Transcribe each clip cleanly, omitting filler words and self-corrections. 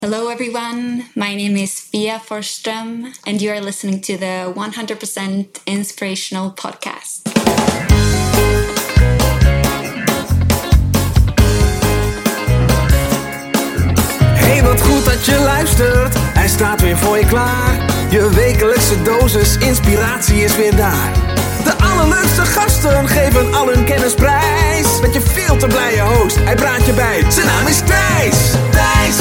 Hello, everyone. My name is Fia Forsström, and you are listening to the 100% Inspirational Podcast. Hey, wat goed dat je luistert. Hij staat weer voor je klaar. Je wekelijkse dosis inspiratie is weer daar. De allerleukste gasten geven al hun kennis prijs. Met je veel te blije host, hij praat je bij. Zijn naam is Thijs. Thijs.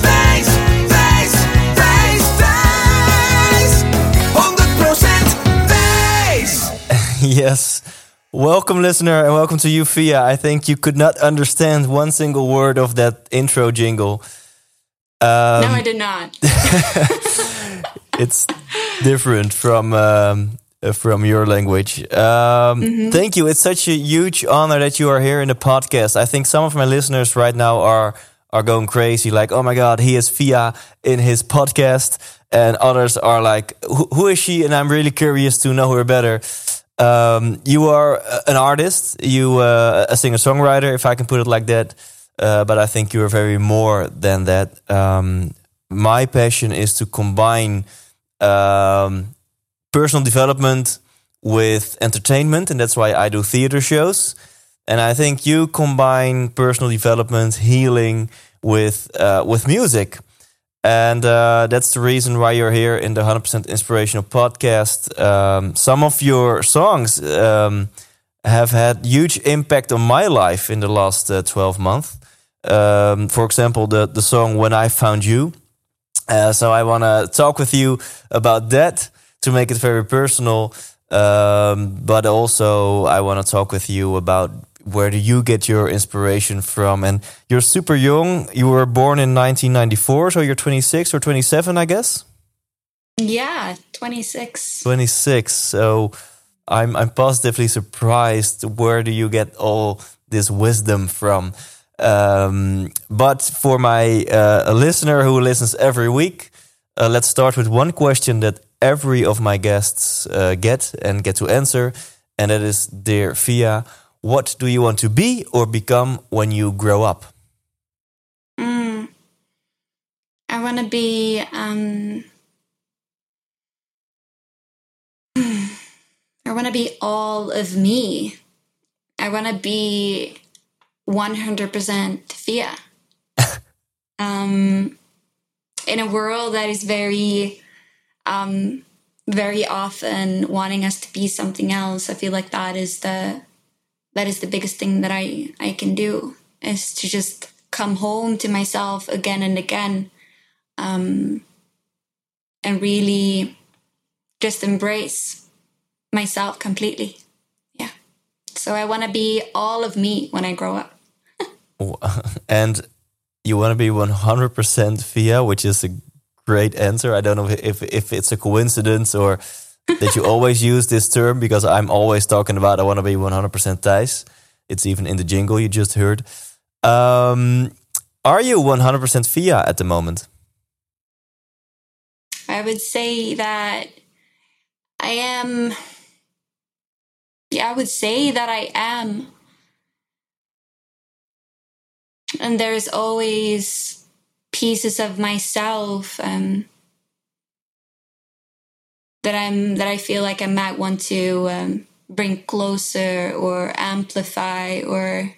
100% Thijs. Yes. Welcome, listener, and welcome to you, Fia. I think you could not understand one single word of that intro jingle. No, I did not. It's different from your language. Thank you. It's such a huge honor that you are here in the podcast. I think some of my listeners right now are going crazy, like, oh my God, he is Fia in his podcast. And others are like, who is she? And I'm really curious to know her better. You are an artist, you a singer-songwriter, if I can put it like that. But I think you're very more than that. My passion is to combine personal development with entertainment, and that's why I do theater shows. And I think you combine personal development, healing with music. And that's the reason why you're here in the 100% Inspirational Podcast. Some of your songs have had huge impact on my life in the last 12 months. For example, the song When I Found You. So I want to talk with you about that to make it very personal. But also I want to talk with you about where do you get your inspiration from? And you're super young. You were born in 1994, so you're 26 or 27, I guess? Yeah, 26. 26. So I'm positively surprised. Where do you get all this wisdom from? But for my a listener who listens every week, let's start with one question that every of my guests get to answer. And that is, dear Fia, what do you want to be or become when you grow up? I want to be... I want to be all of me. I want to be 100% Fia. In a world that is very often wanting us to be something else, I feel like that is the biggest thing that I can do, is to just come home to myself again and again, and really just embrace myself completely. Yeah. So I want to be all of me when I grow up. And you want to be 100% Fia, which is a great answer. I don't know if it's a coincidence or that you always use this term, because I'm always talking about I want to be 100% Thijs. It's even in the jingle you just heard. Are you 100% Fia at the moment? I would say that I am. Yeah, I would say that I am. And there's always pieces of myself that I feel like I might want to bring closer or amplify, or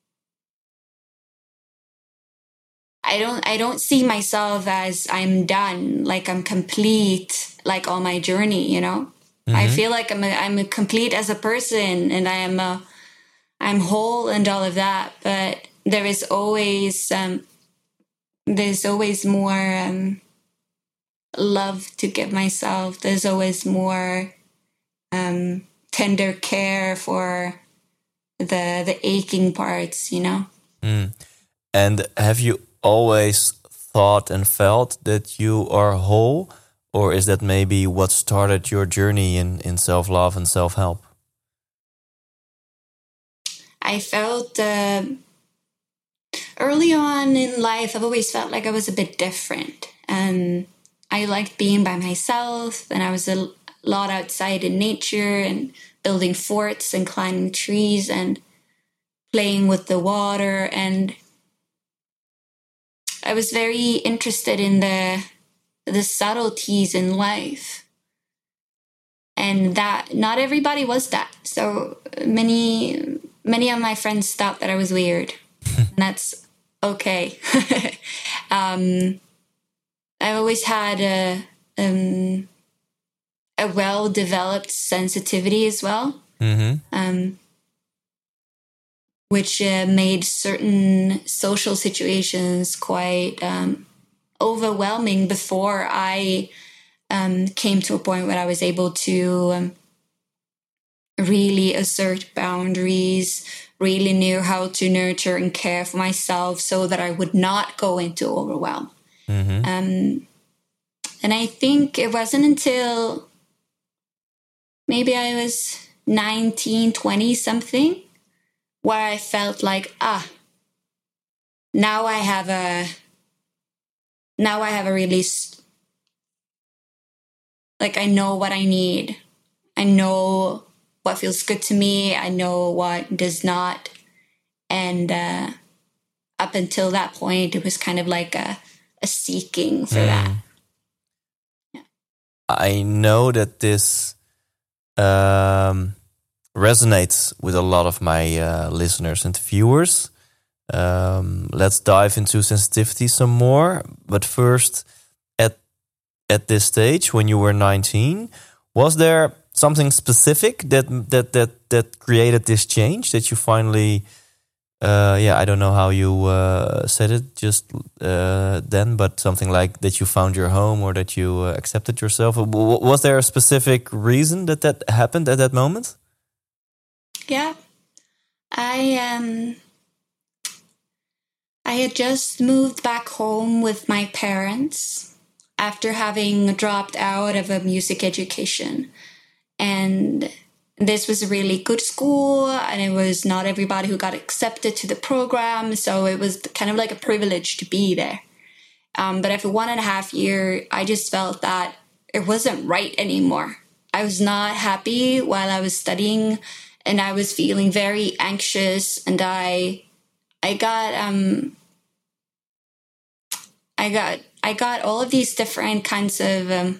I don't see myself as I'm done, like I'm complete, like on my journey, you know. Mm-hmm. I feel like I'm a complete as a person, and I'm whole and all of that, but there is always more love to give myself. There's always more tender care for the aching parts, you know. And have you always thought and felt that you are whole, or is that maybe what started your journey in self-love and self-help? I felt early on in life, I've always felt like I was a bit different, and I liked being by myself, and I was a lot outside in nature and building forts and climbing trees and playing with the water. And I was very interested in the subtleties in life. And that not everybody was that. So many of my friends thought that I was weird. And that's okay. I always had a well-developed sensitivity as well, which made certain social situations quite overwhelming before I came to a point where I was able to really assert boundaries, really knew how to nurture and care for myself so that I would not go into overwhelm. And I think it wasn't until maybe I was 19, 20 something where I felt like, now I have a release. Like, I know what I need. I know what feels good to me. I know what does not. And up until that point, it was kind of like a seeking for that. Yeah. I know that this resonates with a lot of my listeners and viewers. Let's dive into sensitivity some more. But first, at this stage, when you were 19, was there something specific that created this change that you finally, I don't know how you said it just then, but something like that you found your home or that you accepted yourself? Was there a specific reason that happened at that moment? Yeah, I had just moved back home with my parents after having dropped out of a music education. And this was a really good school, and it was not everybody who got accepted to the program. So it was kind of like a privilege to be there. But after 1.5 years, I just felt that it wasn't right anymore. I was not happy while I was studying, and I was feeling very anxious, and I got all of these different kinds of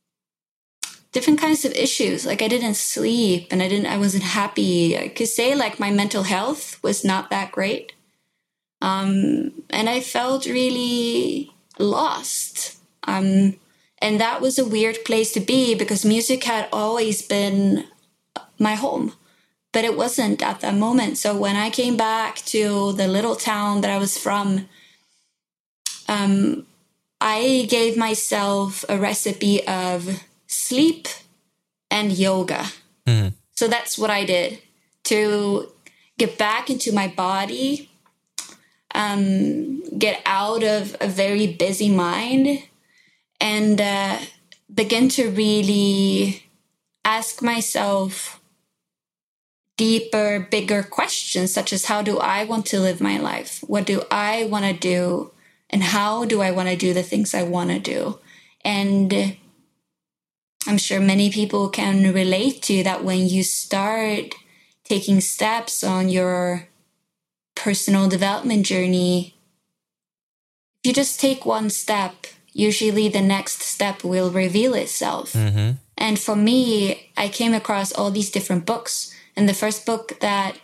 issues. Like, I didn't sleep, and I wasn't happy. I could say like my mental health was not that great. And I felt really lost. And that was a weird place to be because music had always been my home, but it wasn't at that moment. So when I came back to the little town that I was from, I gave myself a recipe of sleep and yoga. So that's what I did to get back into my body, get out of a very busy mind, and begin to really ask myself deeper, bigger questions, such as how do I want to live my life? What do I want to do? And how do I want to do the things I want to do? And I'm sure many people can relate to that. When you start taking steps on your personal development journey, if you just take one step, usually the next step will reveal itself. And for me, I came across all these different books. And the first book that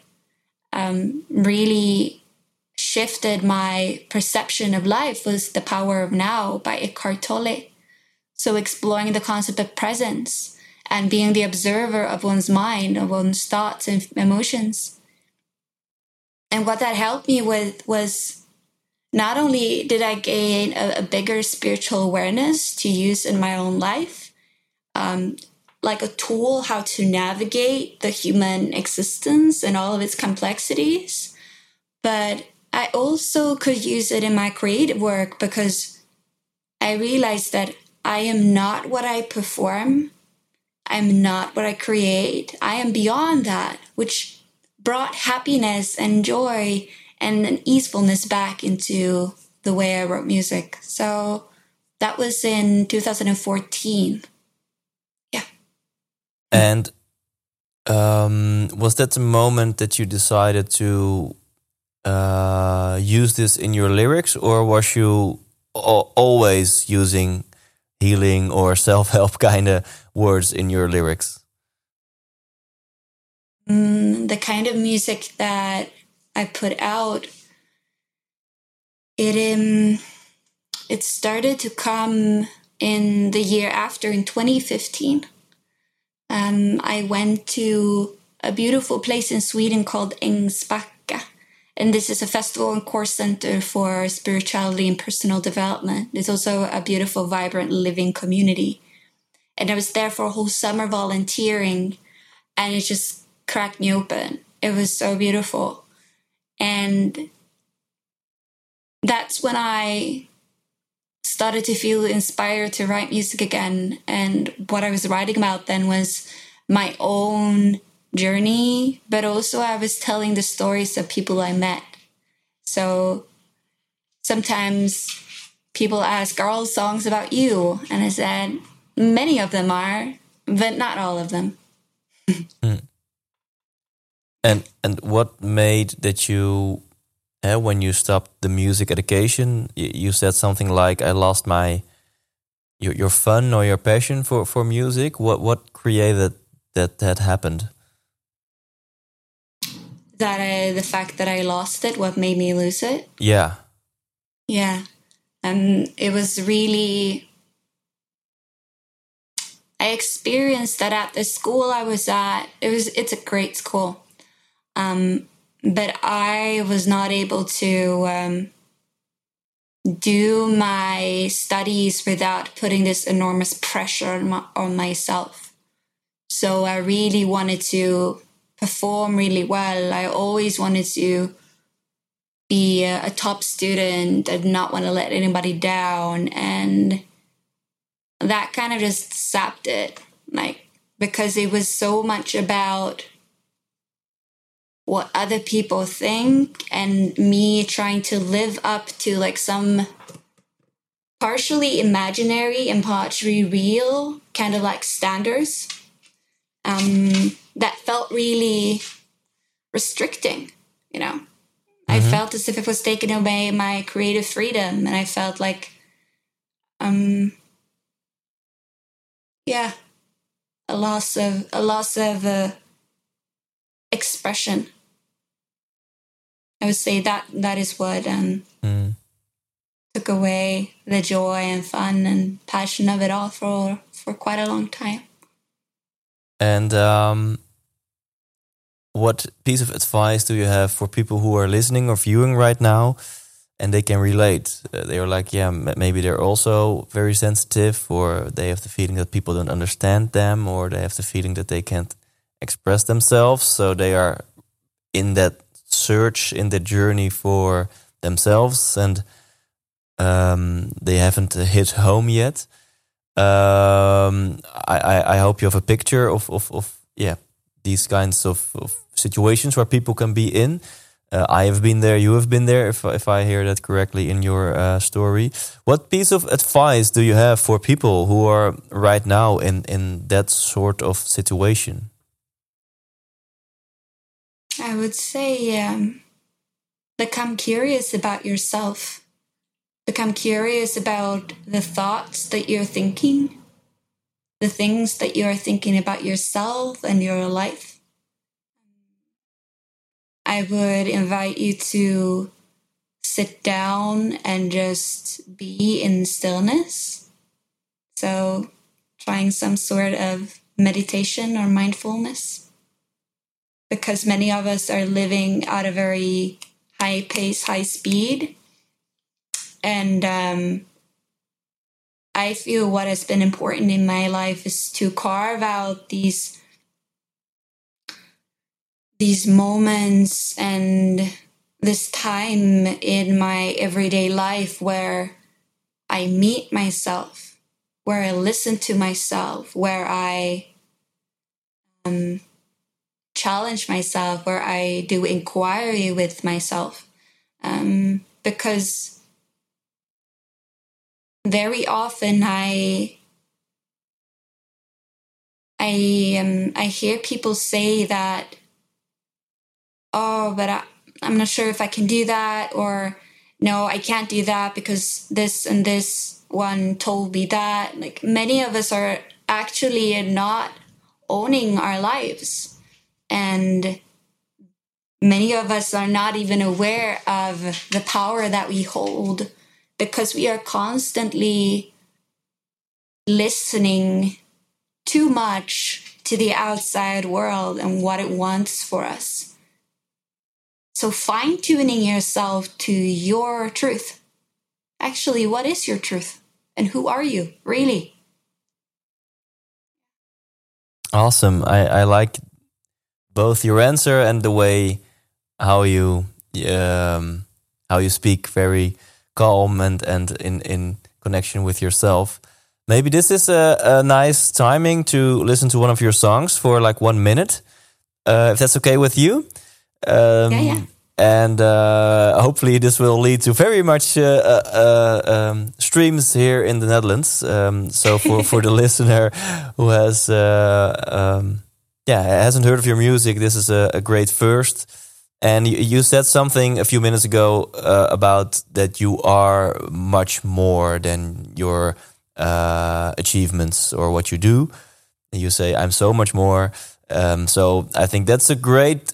really shifted my perception of life was The Power of Now by Eckhart Tolle. So exploring the concept of presence and being the observer of one's mind, of one's thoughts and emotions. And what that helped me with was not only did I gain a bigger spiritual awareness to use in my own life, like a tool how to navigate the human existence and all of its complexities, but I also could use it in my creative work because I realized that I am not what I perform. I'm not what I create. I am beyond that, which brought happiness and joy and an easefulness back into the way I wrote music. So that was in 2014. Yeah. And was that the moment that you decided to use this in your lyrics, or was you always using healing or self-help kind of words in your lyrics? The kind of music that I put out, it started to come in the year after, in 2015. I went to a beautiful place in Sweden called Ängsbacka. And this is a festival and course center for spirituality and personal development. It's also a beautiful, vibrant, living community. And I was there for a whole summer volunteering, and it just cracked me open. It was so beautiful. And that's when I started to feel inspired to write music again. And what I was writing about then was my own journey, but also I was telling the stories of people I met. So sometimes people ask, are all songs about you? And I said, many of them are, but not all of them. And what made that you, when you stopped the music education, you said something like, I lost your fun or your passion for music. What created that happened? The fact that I lost it, what made me lose it? Yeah. Yeah. It was really, I experienced that at the school I was at. It's a great school. But I was not able to do my studies without putting this enormous pressure on myself. So I really wanted to perform really well. I always wanted to be a top student and not want to let anybody down. And that kind of just sapped it, because it was so much about what other people think and me trying to live up to some partially imaginary and partially real kind of standards. That felt really restricting, Mm-hmm. I felt as if it was taking away my creative freedom, and I felt like, a loss of expression. I would say that is what took away the joy and fun and passion of it all for quite a long time. And what piece of advice do you have for people who are listening or viewing right now and they can relate? They're like, maybe they're also very sensitive, or they have the feeling that people don't understand them, or they have the feeling that they can't express themselves. So they are in that search, in the journey for themselves, and they haven't hit home yet. I hope you have a picture of these kinds of situations where people can be in. I have been there, you have been there, if I hear that correctly in your story. What piece of advice do you have for people who are right now in that sort of situation? I would say become curious about yourself. Become curious about the thoughts that you're thinking, the things that you're thinking about yourself and your life. I would invite you to sit down and just be in stillness. So trying some sort of meditation or mindfulness. Because many of us are living at a very high pace, high speed. And I feel what has been important in my life is to carve out these moments and this time in my everyday life where I meet myself, where I listen to myself, where I challenge myself, where I do inquiry with myself. Because very often I hear people say that, oh, but I'm not sure if I can do that, or no, I can't do that because this and this one told me that. Like, many of us are actually not owning our lives, and many of us are not even aware of the power that we hold, because we are constantly listening too much to the outside world and what it wants for us. So fine-tuning yourself to your truth. Actually, what is your truth? And who are you, really? Awesome. I like both your answer and the way how you speak, very calm and in connection with yourself. Maybe this is a nice timing to listen to one of your songs for like 1 minute, if that's okay with you. Yeah. And hopefully this will lead to very much streams here in the Netherlands. So for the listener who hasn't heard of your music, this is a great first. And you said something a few minutes ago about that you are much more than your achievements or what you do. You say, I'm so much more. So I think that's a great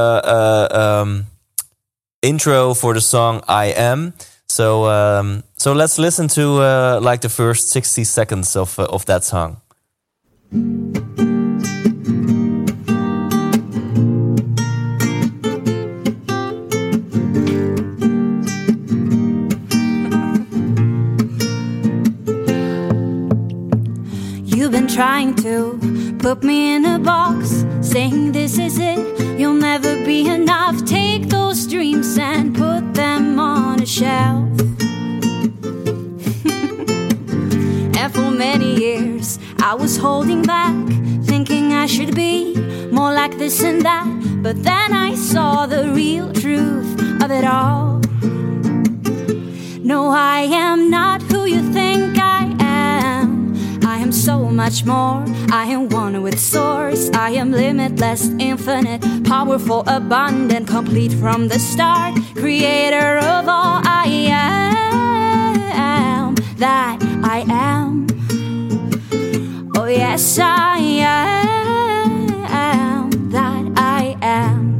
intro for the song I Am. So let's listen to like the first 60 seconds of that song. You've been trying to put me in a box, saying this is it, you'll never be enough. Take those dreams and put them on a shelf. And for many years I was holding back, thinking I should be more like this and that. But then I saw the real truth of it all. No, I am not who you think I am. I am so much more. I am one with source. I am limitless, infinite, powerful, abundant, complete from the start. Creator of all. I am that I am. Oh yes, I am that I am.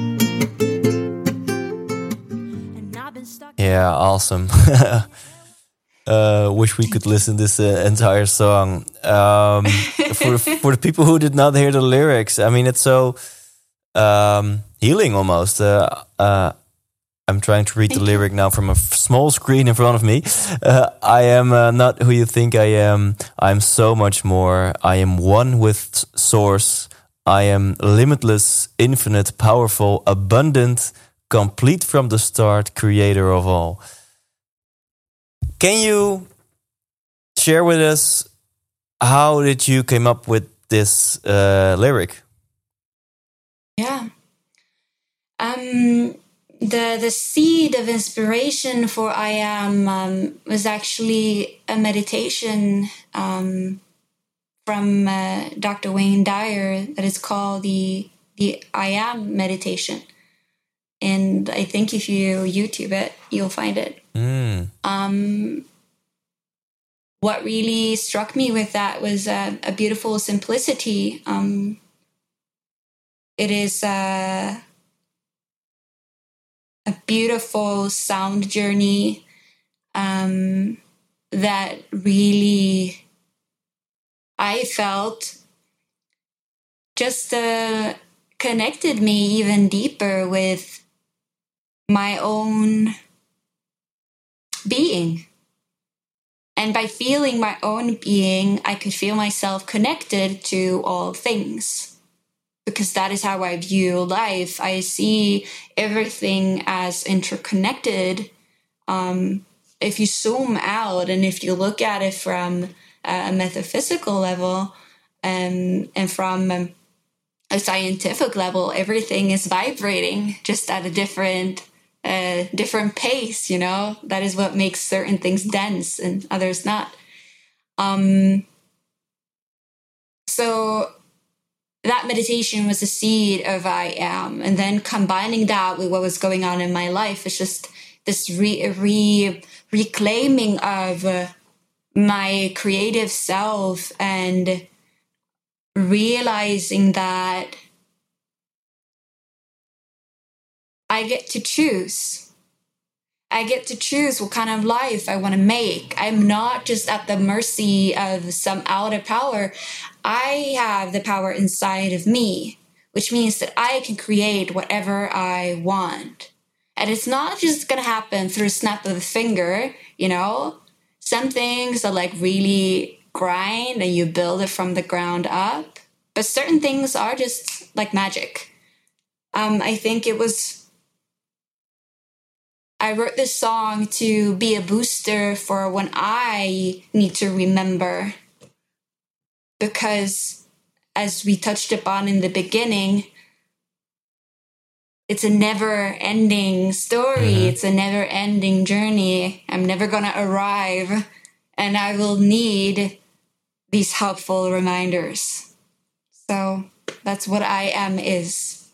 And I've been stuck. Yeah, awesome. Wish we could listen to this entire song. For the people who did not hear the lyrics, I mean, it's so healing almost. I'm trying to read the lyric now from a small screen in front of me. I am not who you think I am. I'm so much more. I am one with Source. I am limitless, infinite, powerful, abundant, complete from the start, creator of all. Can you share with us how did you came up with this lyric? Yeah. The seed of inspiration for I Am was actually a meditation from Dr. Wayne Dyer that is called the I Am meditation. And I think if you YouTube it, you'll find it. What really struck me with that was a beautiful simplicity. It is a beautiful sound journey that really, I felt, just connected me even deeper with my own being. And by feeling my own being, I could feel myself connected to all things. Because that is how I view life. I see everything as interconnected. If you zoom out and if you look at it from a metaphysical level and from a scientific level, everything is vibrating just at a different pace, you know. That is what makes certain things dense and others not. So that meditation was the seed of I am. And then combining that with what was going on in my life is just this reclaiming of my creative self, and realizing that I get to choose. I get to choose what kind of life I want to make. I'm not just at the mercy of some outer power. I have the power inside of me, which means that I can create whatever I want. And it's not just going to happen through a snap of a finger, you know? Some things are like really grind and you build it from the ground up. But certain things are just like magic. I think I wrote this song to be a booster for when I need to remember. Because as we touched upon in the beginning, it's a never-ending story. Mm-hmm. It's a never-ending journey. I'm never going to arrive, and I will need these helpful reminders. So that's what I am is.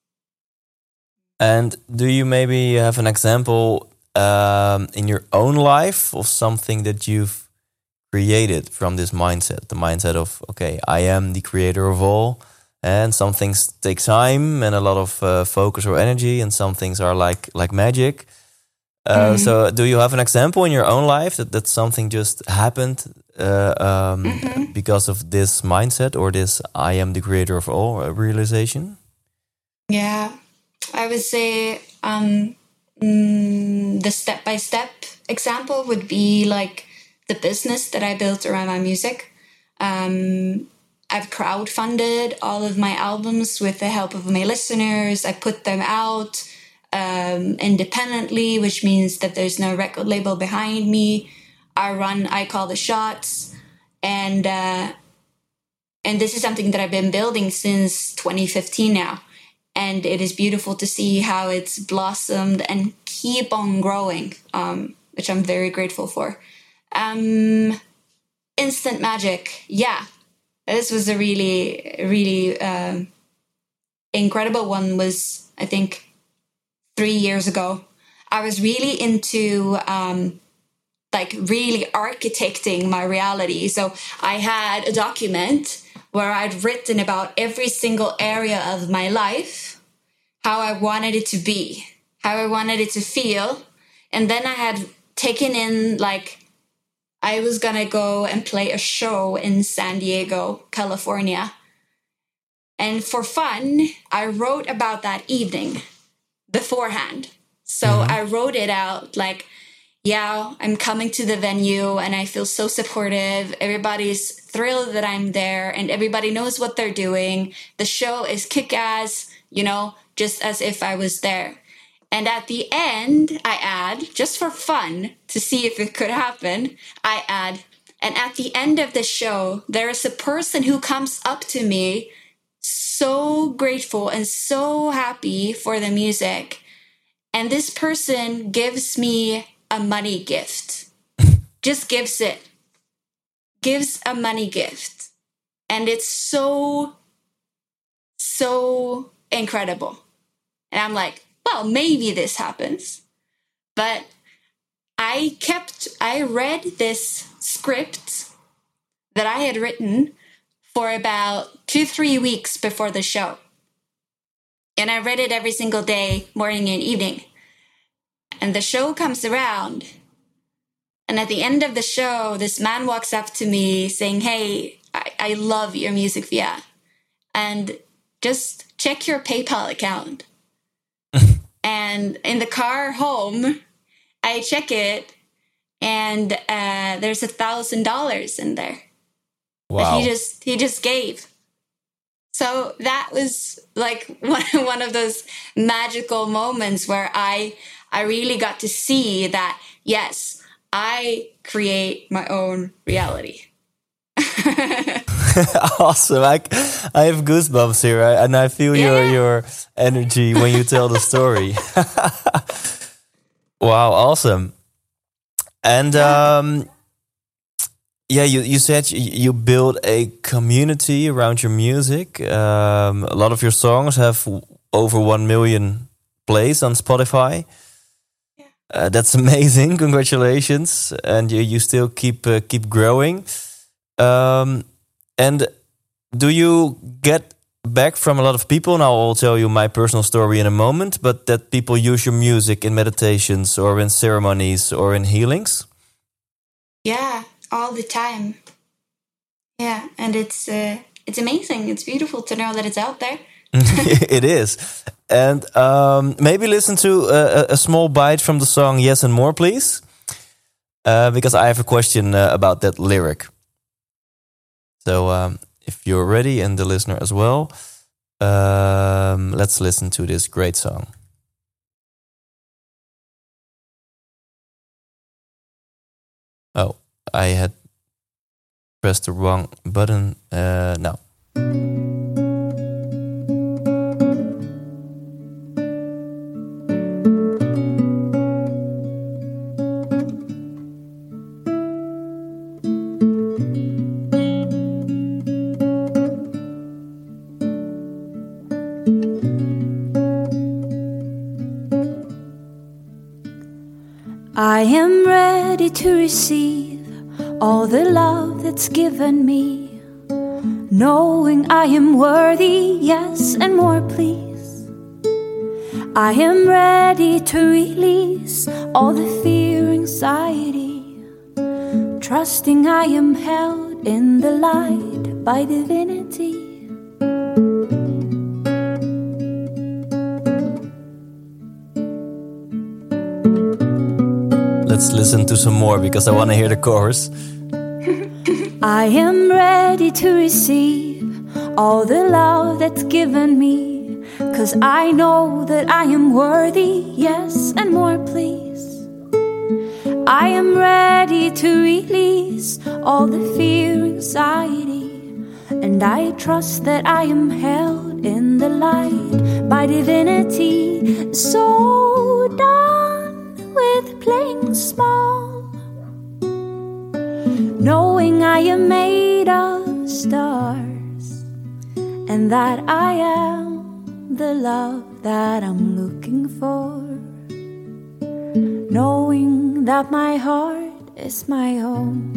And do you maybe have an example in your own life of something that you've created from this mindset? The mindset of, okay, I am the creator of all. And some things take time and a lot of focus or energy, and some things are like magic. So do you have an example in your own life that something just happened because of this mindset or this I am the creator of all realization? Yeah, I would say the step-by-step example would be like the business that I built around my music. I've crowdfunded all of my albums with the help of my listeners. I put them out independently, which means that there's no record label behind me. I call the shots. And this is something that I've been building since 2015 now. And it is beautiful to see how it's blossomed and keep on growing, which I'm very grateful for. Instant magic, yeah. This was a really, really incredible one. Was, I think, 3 years ago. I was really into really architecting my reality. So I had a document where I'd written about every single area of my life, how I wanted it to be, how I wanted it to feel. And then I had taken in I was going to go and play a show in San Diego, California. And for fun, I wrote about that evening beforehand. So I wrote it out I'm coming to the venue and I feel so supportive. Everybody's thrilled that I'm there and everybody knows what they're doing. The show is kick-ass, just as if I was there. And at the end, I add, just for fun, to see if it could happen, and at the end of the show, there is a person who comes up to me so grateful and so happy for the music. And this person gives me a money gift. Just gives a money gift. And it's so, so incredible. And I'm like, well, maybe this happens. But I read this script that I had written for about 2-3 weeks before the show. And I read it every single day, morning and evening. And the show comes around. And at the end of the show, this man walks up to me saying, hey, I love your music, Via. And just check your PayPal account. And in the car home, I check it, and there's $1,000 in there. Wow! That he just gave. So that was one of those magical moments where I really got to see that yes, I create my own reality. Awesome. I have goosebumps here, and I feel your energy when you tell the story. Wow, awesome. And Yeah, you said you build a community around your music. A lot of your songs have over 1 million plays on Spotify. That's amazing. Congratulations. And you still keep growing. And do you get back from a lot of people? Now I'll tell you my personal story in a moment, but that people use your music in meditations or in ceremonies or in healings? Yeah, all the time. Yeah, and it's amazing. It's beautiful to know that it's out there. It is. And maybe listen to a small bite from the song Yes and More, please. Because I have a question about that lyric. So if you're ready and the listener as well, let's listen to this great song. Oh, I had pressed the wrong button. Now. I am ready to receive all the love that's given me, knowing I am worthy, yes, and more, please. I am ready to release all the fear, anxiety, trusting I am held in the light by divinity. Let's listen to some more because I want to hear the chorus. I am ready to receive all the love that's given me, 'cause I know that I am worthy, yes, and more, please. I am ready to release all the fear, anxiety, and I trust that I am held in the light by divinity. So done with playing small, knowing I am made of stars, and that I am the love that I'm looking for, knowing that my heart is my home.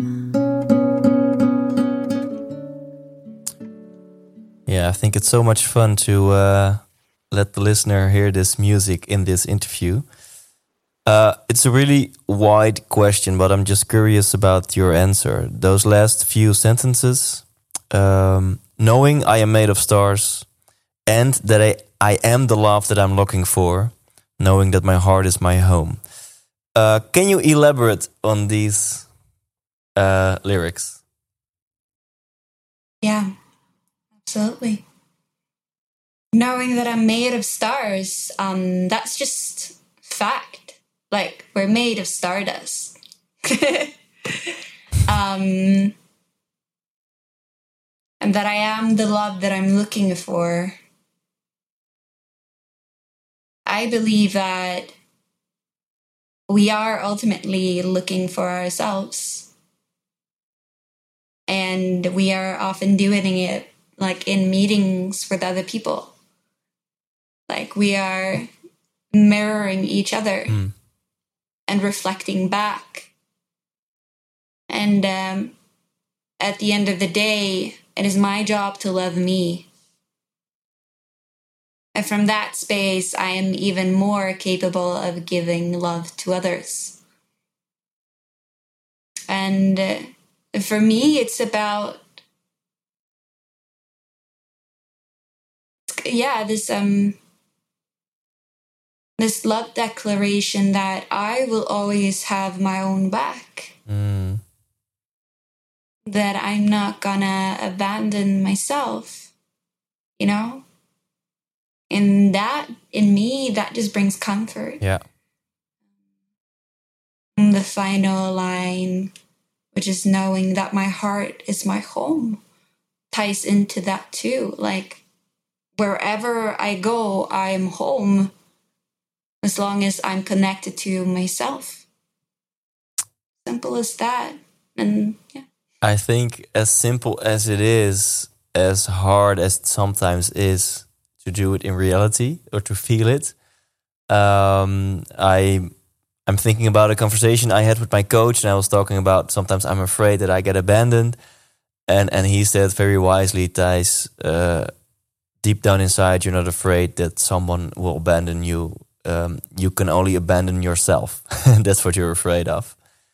Yeah, I think it's so much fun to let the listener hear this music in this interview. It's a really wide question, but I'm just curious about your answer. Those last few sentences, knowing I am made of stars and that I am the love that I'm looking for, knowing that my heart is my home. Can you elaborate on these lyrics? Yeah, absolutely. Knowing that I'm made of stars, that's just fact. Like, we're made of stardust. And that I am the love that I'm looking for. I believe that we are ultimately looking for ourselves. And we are often doing it like in meetings with other people. Like, we are mirroring each other. And reflecting back. And at the end of the day, it is my job to love me. And from that space, I am even more capable of giving love to others. And for me, it's about, this love declaration that I will always have my own back. That I'm not gonna abandon myself, you know? And that, in me, that just brings comfort. Yeah. And the final line, which is knowing that my heart is my home, ties into that too. Like, wherever I go, I am home. As long as I'm connected to myself. Simple as that. And yeah. I think as simple as it is, as hard as it sometimes is to do it in reality or to feel it, I'm thinking about a conversation I had with my coach, and I was talking about sometimes I'm afraid that I get abandoned, and he said very wisely, Thijs, deep down inside, you're not afraid that someone will abandon you. You can only abandon yourself. That's what you're afraid of.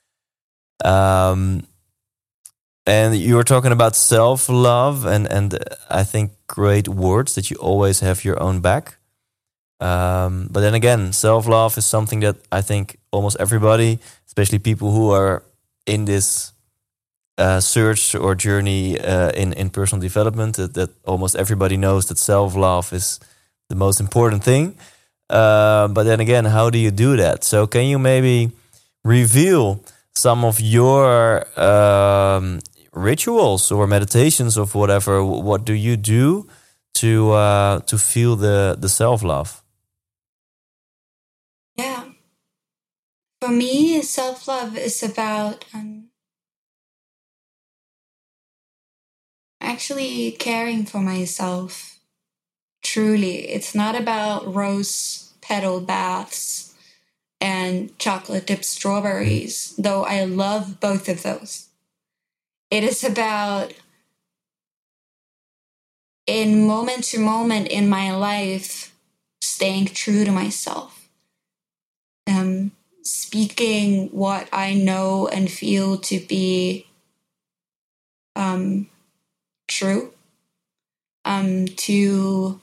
And you were talking about self-love, and I think great words that you always have your own back. But then again, self-love is something that I think almost everybody, especially people who are in this search or journey in personal development, that almost everybody knows that self-love is the most important thing. But then again, how do you do that? So can you maybe reveal some of your rituals or meditations of whatever? What do you do to feel the self-love? Yeah. For me, self-love is about actually caring for myself. Truly. It's not about rose petal baths and chocolate dipped strawberries, though I love both of those. It is about, in moment to moment in my life, staying true to myself. Speaking what I know and feel to be true. To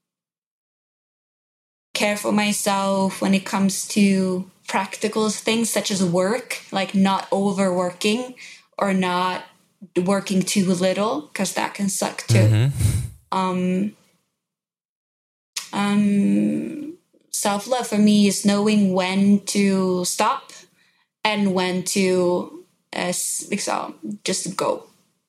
care for myself when it comes to practical things such as work, like not overworking or not working too little, because that can suck too. Self-love for me is knowing when to stop and when to just go.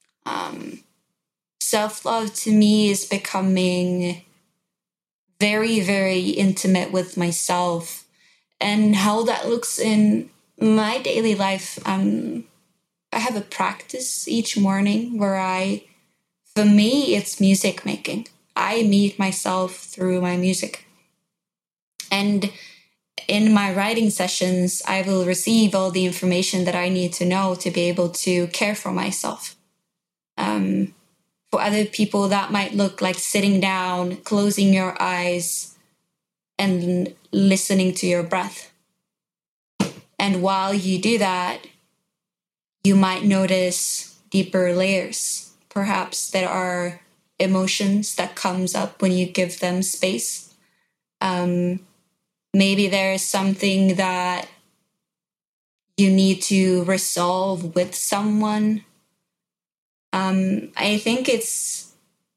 Self-love to me is becoming very, very intimate with myself, and how that looks in my daily life. I have a practice each morning where for me, it's music making. I meet myself through my music. And in my writing sessions, I will receive all the information that I need to know to be able to care for myself. For other people, that might look like sitting down, closing your eyes, and listening to your breath. And while you do that, you might notice deeper layers. Perhaps there are emotions that comes up when you give them space. Maybe there is something that you need to resolve with someone. I think it's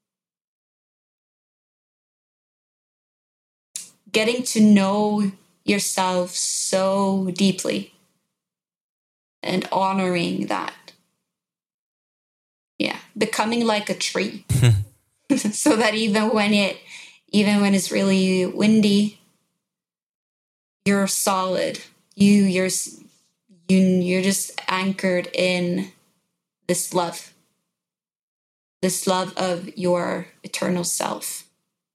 getting to know yourself so deeply and honoring that. Yeah, becoming like a tree. So that even when it's really windy, you're solid. You're just anchored in this love of your eternal self.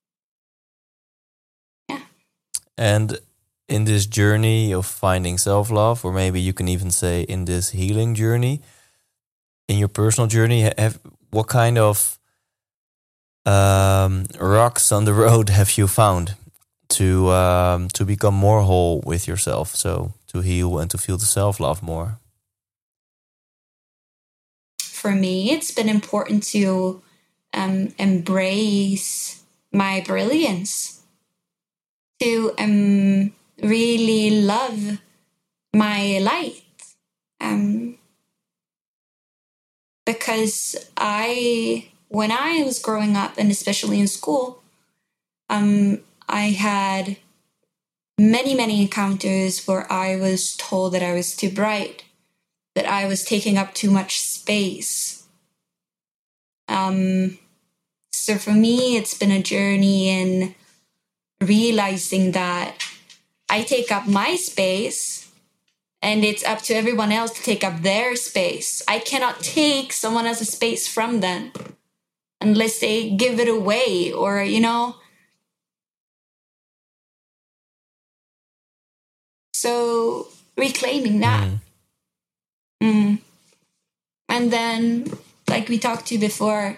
Yeah. And in this journey of finding self-love, or maybe you can even say in this healing journey, in your personal journey, what kind of rocks on the road have you found to become more whole with yourself, so to heal and to feel the self-love more? For me, it's been important to embrace my brilliance, to really love my light, because when I was growing up, and especially in school, I had many, many encounters where I was told that I was too bright, that I was taking up too much space. So for me, it's been a journey in realizing that I take up my space And it's up to everyone else to take up their space. I cannot take someone else's space from them unless they give it away or, So reclaiming that. And then, like we talked to before,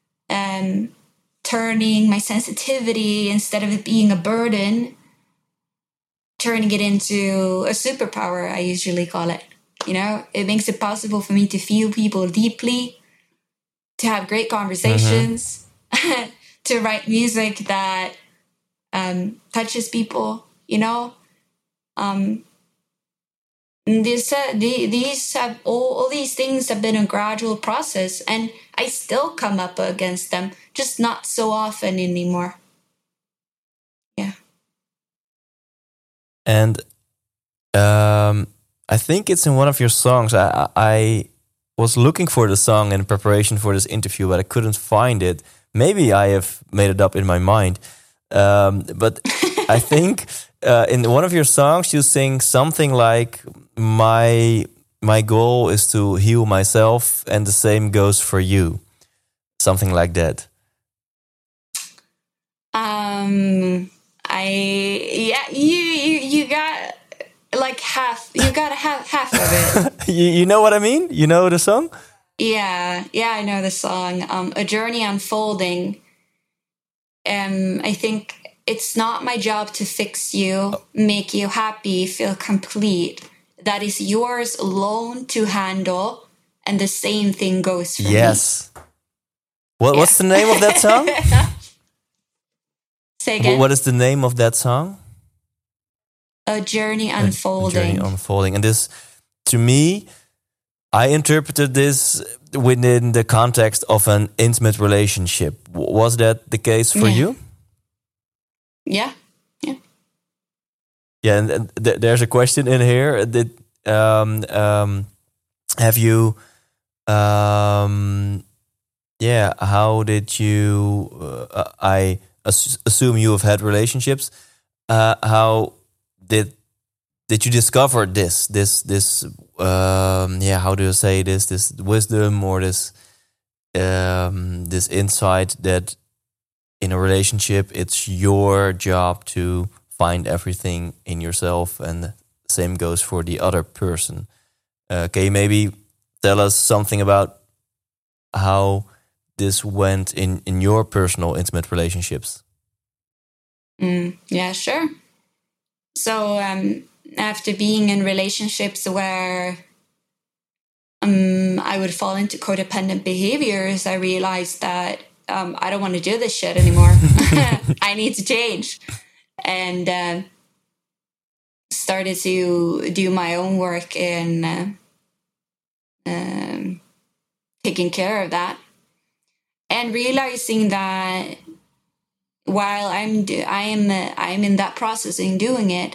turning my sensitivity, instead of it being a burden, turning it into a superpower, I usually call it. It makes it possible for me to feel people deeply, to have great conversations, to write music that touches people, These have all these things have been a gradual process, and I still come up against them, just not so often anymore. Yeah. And I think it's in one of your songs. I was looking for the song in preparation for this interview, but I couldn't find it. Maybe I have made it up in my mind. But I think in one of your songs you sing something like, my goal is to heal myself, and the same goes for you. Something like that. You got like half. You got half of it. You know what I mean? You know the song? Yeah, I know the song. A Journey Unfolding. I think it's not my job to fix you, make you happy, feel complete. That is yours alone to handle, and the same thing goes for me. Yes. What's the name of that song? Say again. What is the name of that song? A Journey Unfolding. A Journey Unfolding. And this, to me, I interpreted this within the context of an intimate relationship. Was that the case for you? Yeah. Yeah, and there's a question in here. Did have you? How did you? I assume you have had relationships. How did you discover this? How do you say this? This wisdom or this insight that in a relationship it's your job to find everything in yourself, and the same goes for the other person. Can you maybe tell us something about how this went in your personal intimate relationships? Yeah, sure. So after being in relationships where I would fall into codependent behaviors, I realized that I don't want to do this shit anymore. I need to change. And started to do my own work in taking care of that, and realizing that while I am in that process in doing it,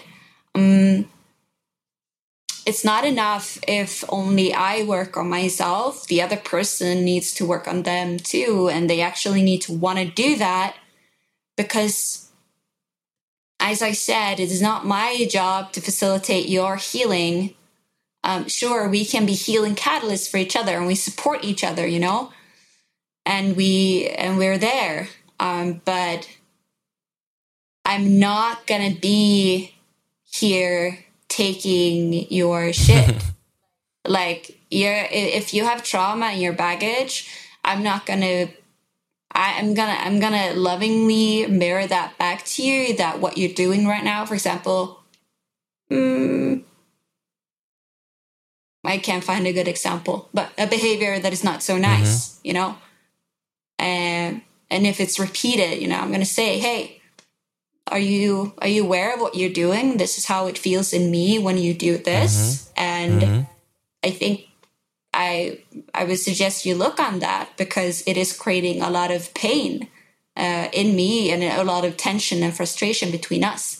it's not enough if only I work on myself. The other person needs to work on them too, and they actually need to want to do that, because as I said, it is not my job to facilitate your healing. Sure, we can be healing catalysts for each other, and we support each other, and we're there. But I'm not gonna be here taking your shit. Like, if you have trauma and your baggage, I'm gonna lovingly mirror that back to you, that what you're doing right now, for example, I can't find a good example, but a behavior that is not so nice, and if it's repeated, I'm gonna say, hey, are you aware of what you're doing? This is how it feels in me when you do this. And I think I would suggest you look on that, because it is creating a lot of pain in me, and a lot of tension and frustration between us,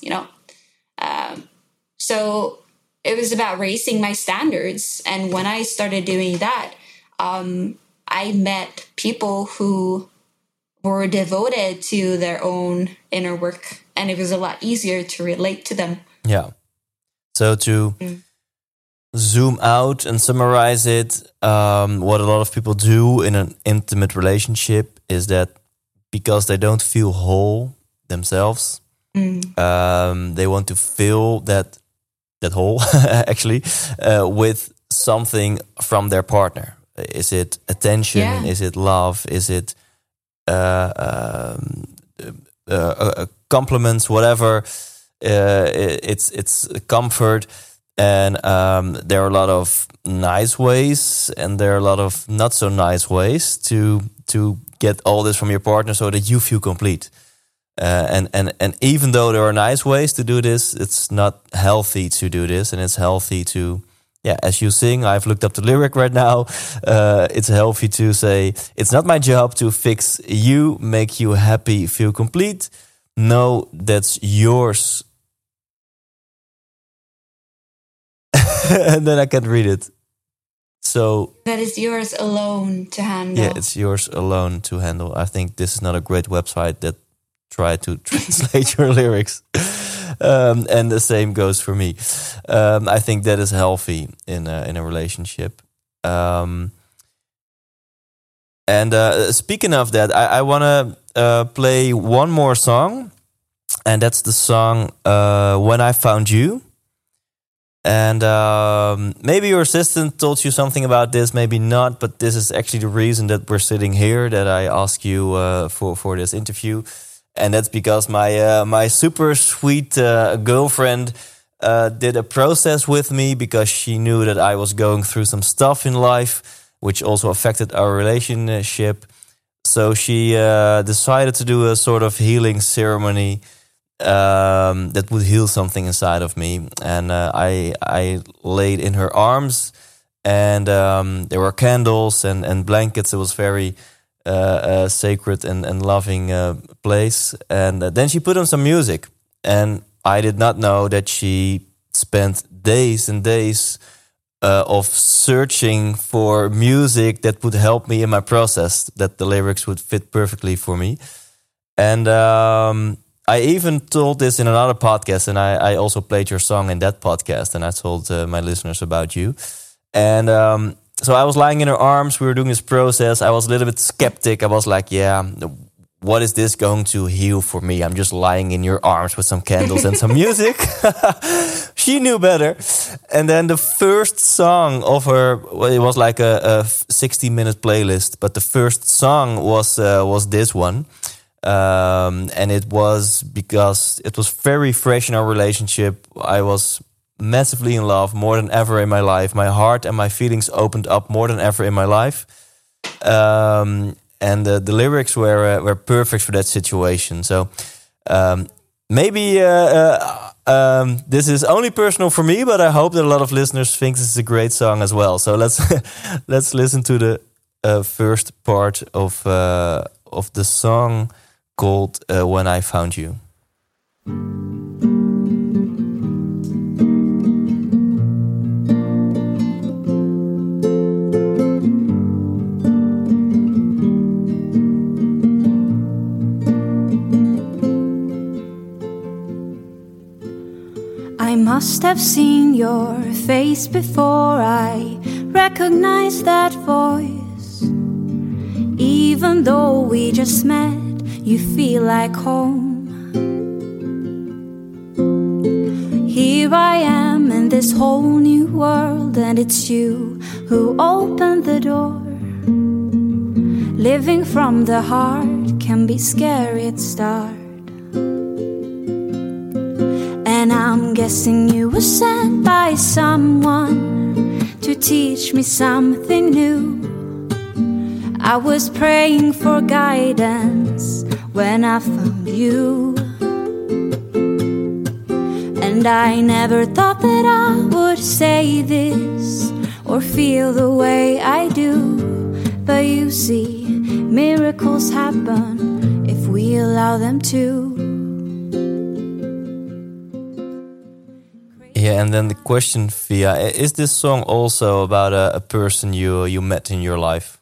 so it was about raising my standards. And when I started doing that, I met people who were devoted to their own inner work, and it was a lot easier to relate to them. Yeah. So zoom out and summarize it, what a lot of people do in an intimate relationship is that because they don't feel whole themselves, they want to fill that hole actually with something from their partner. Is it attention? Yeah. Is it love? Is it compliments? Whatever. It's comfort. And there are a lot of nice ways, and there are a lot of not so nice ways to get all this from your partner, so that you feel complete. And even though there are nice ways to do this, it's not healthy to do this, and it's healthy to, as you sing. I've looked up the lyric right now. It's healthy to say, "It's not my job to fix you, make you happy, feel complete. No, that's yours." And then I can't read it. So that is yours alone to handle. Yeah, it's yours alone to handle. I think this is not a great website that try to translate your lyrics. And the same goes for me. I think that is healthy in a relationship. Speaking of that, I want to play one more song, and that's the song "When I Found You." And maybe your assistant told you something about this, maybe not, but this is actually the reason that we're sitting here, that I ask you for this interview. And that's because my super sweet girlfriend did a process with me, because she knew that I was going through some stuff in life, which also affected our relationship. So she decided to do a sort of healing ceremony that would heal something inside of me. And I laid in her arms, and there were candles and blankets. It was very sacred and loving place. And then she put on some music, and I did not know that she spent days and days of searching for music that would help me in my process, that the lyrics would fit perfectly for me. And I even told this in another podcast, and I also played your song in that podcast, and I told my listeners about you. And so I was lying in her arms. We were doing this process. I was a little bit skeptic. I was like, what is this going to heal for me? I'm just lying in your arms with some candles and some music. She knew better. And then the first song of her, it was like a 60-minute playlist, but the first song was this one. And it was because it was very fresh in our relationship. I was massively in love, more than ever in my life. My heart and my feelings opened up more than ever in my life. And the lyrics were perfect for that situation. So maybe this is only personal for me, but I hope that a lot of listeners think this is a great song as well. So let's listen to the first part of the song called "When I Found You." I must have seen your face before I recognized that voice. Even though we just met, you feel like home. Here I am in this whole new world, and it's you who opened the door. Living from the heart can be scary at start. And I'm guessing you were sent by someone to teach me something new. I was praying for guidance when I found you. And I never thought that I would say this or feel the way I do. But you see, miracles happen if we allow them to. Yeah, and then the question, Via, is this song also about a person you met in your life?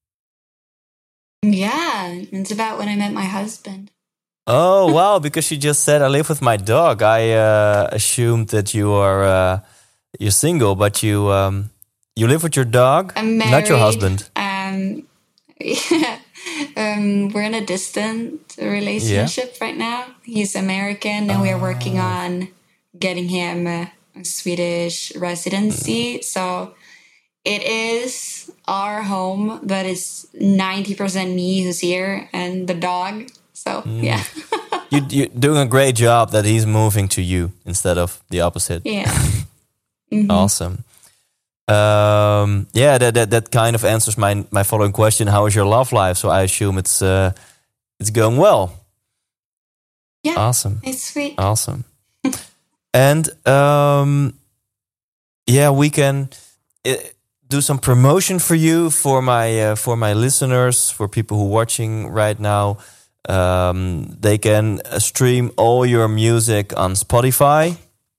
Yeah, it's about when I met my husband. Oh, wow, because she just said I live with my dog. I assumed that you are You're single, but you live with your dog, I'm married. not your husband. We're in a distant relationship right now. He's American, and we're working on getting him a Swedish residency. So it is our home, but it's 90% me who's here and the dog. So yeah. You're doing a great job that he's moving to you instead of the opposite. Yeah. Mm-hmm. Awesome. That kind of answers my following question. How is your love life? So I assume it's going well. Yeah. Awesome. It's sweet. Awesome. And we can do some promotion for you for my listeners, for people who are watching right now. They can stream all your music on Spotify.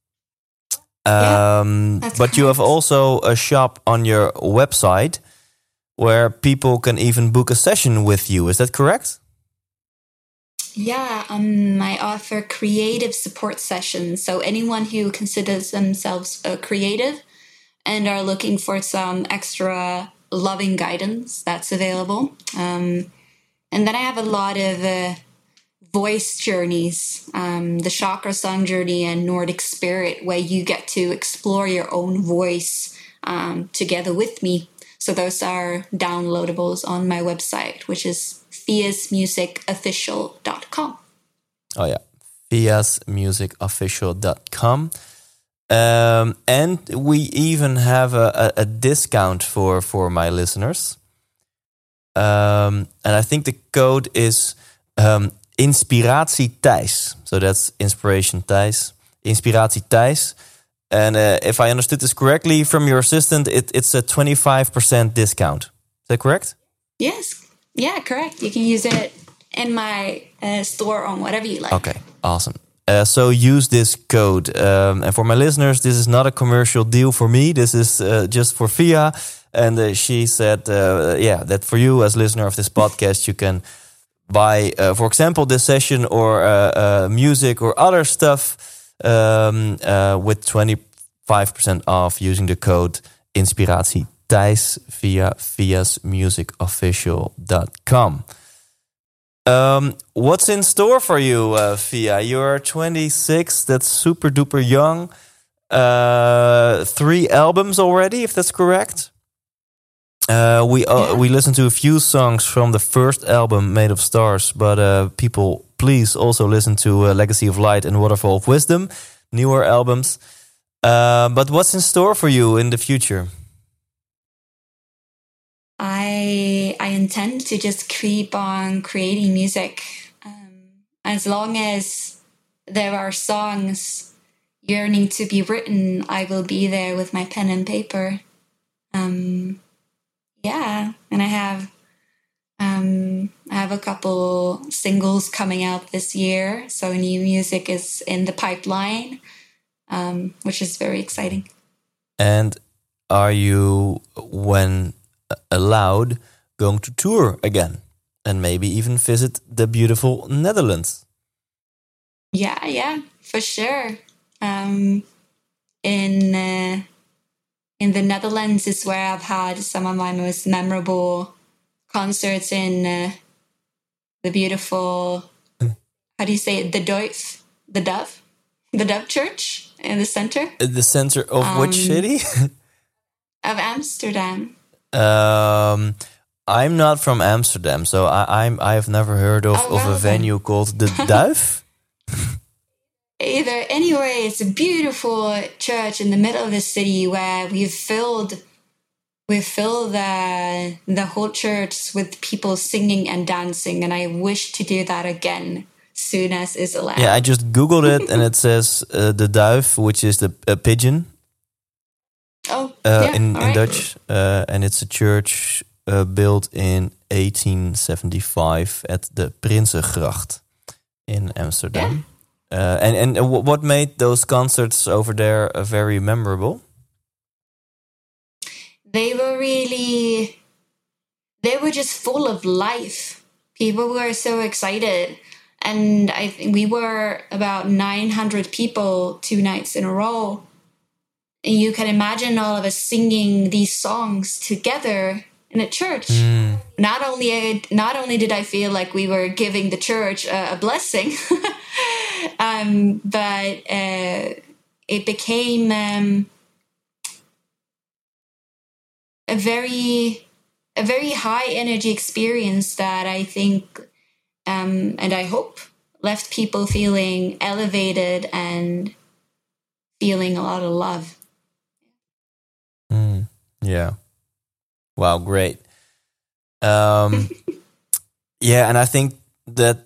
But you have also a shop on your website where people can even book a session with you. Is that correct? Yeah, I offer creative support sessions. So anyone who considers themselves a creative and are looking for some extra loving guidance, that's available. And then I have a lot of voice journeys, the Chakra Song Journey and Nordic Spirit, where you get to explore your own voice together with me. So those are downloadables on my website, which is fiasmusicofficial.com. Oh yeah, fiasmusicofficial.com. And we even have a discount for my listeners. And I think the code is Inspiratie Thijs. So that's Inspiration Thijs. Inspiratie Thijs. And if I understood this correctly from your assistant, it's a 25% discount. Is that correct? Yes. Yeah, correct. You can use it in my store on whatever you like. Okay, awesome. So use this code. And for my listeners, this is not a commercial deal for me. This is just for Fia. And she said, that for you as listener of this podcast, you can buy, for example, this session or music or other stuff with 25% off using the code Inspiratie Thijs via fiasmusicofficial.com. What's in store for you, Fia? You're 26. That's super duper young. 3 albums already, if that's correct. We listened to a few songs from the first album, Made of Stars, but people, please also listen to Legacy of Light and Waterfall of Wisdom, newer albums. But what's in store for you in the future? I intend to just keep on creating music. As long as there are songs yearning to be written, I will be there with my pen and paper. And I have a couple singles coming out this year. So new music is in the pipeline, which is very exciting. And are you, when allowed, going to tour again and maybe even visit the beautiful Netherlands? Yeah, for sure. In the Netherlands is where I've had some of my most memorable concerts in the beautiful, how do you say it? The Dove Church in the center. The center of which city? Of Amsterdam. I'm not from Amsterdam, so I've never heard of a venue called the Duif. Anyway, it's a beautiful church in the middle of the city where we fill the whole church with people singing and dancing, and I wish to do that again soon as is allowed. Yeah, I just Googled it and it says the Duif, which is a pigeon. In Dutch, and it's a church built in 1875 at the Prinsengracht in Amsterdam. Yeah. And what made those concerts over there very memorable? They were just full of life. People were so excited. And I think we were about 900 people 2 nights in a row. you can imagine all of us singing these songs together in a church. Not only did I feel like we were giving the church a blessing, but it became a very high energy experience that I think, and I hope, left people feeling elevated and feeling a lot of love. Yeah. Wow, great. Yeah, and I think that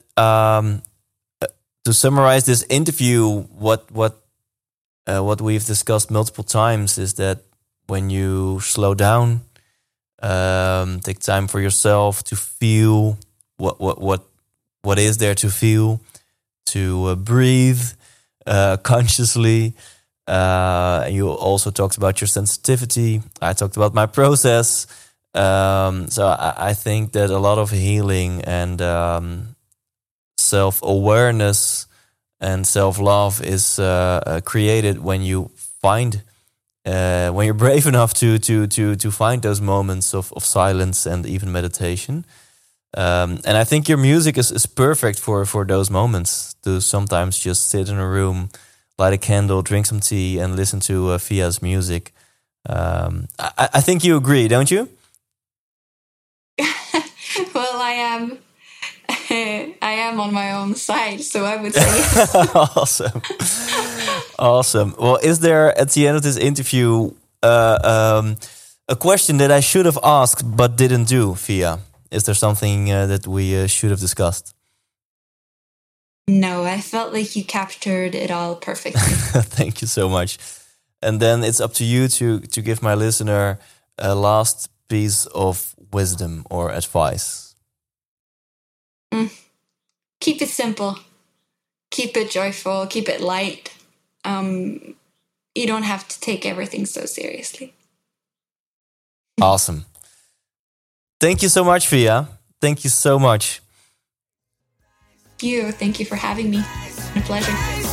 to summarize this interview, what we've discussed multiple times is that when you slow down, take time for yourself to feel what is there to feel, to breathe consciously. You also talked about your sensitivity. I talked about my process. So I think that a lot of healing and self-awareness and self-love is created when you find, when you're brave enough to find those moments of silence and even meditation. And I think your music is perfect for those moments, to sometimes just sit in a room, light a candle, drink some tea, and listen to Fia's music. I think you agree, don't you? Well, I am on my own side, so I would say yes. Awesome. Well, is there at the end of this interview a question that I should have asked but didn't do, Fia? Is there something that we should have discussed? No, I felt like you captured it all perfectly. Thank you so much. And then it's up to you to give my listener a last piece of wisdom or advice. Keep it simple. Keep it joyful. Keep it light. You don't have to take everything so seriously. Awesome. Thank you so much, Fia. Thank you so much. Thank you for having me. A pleasure.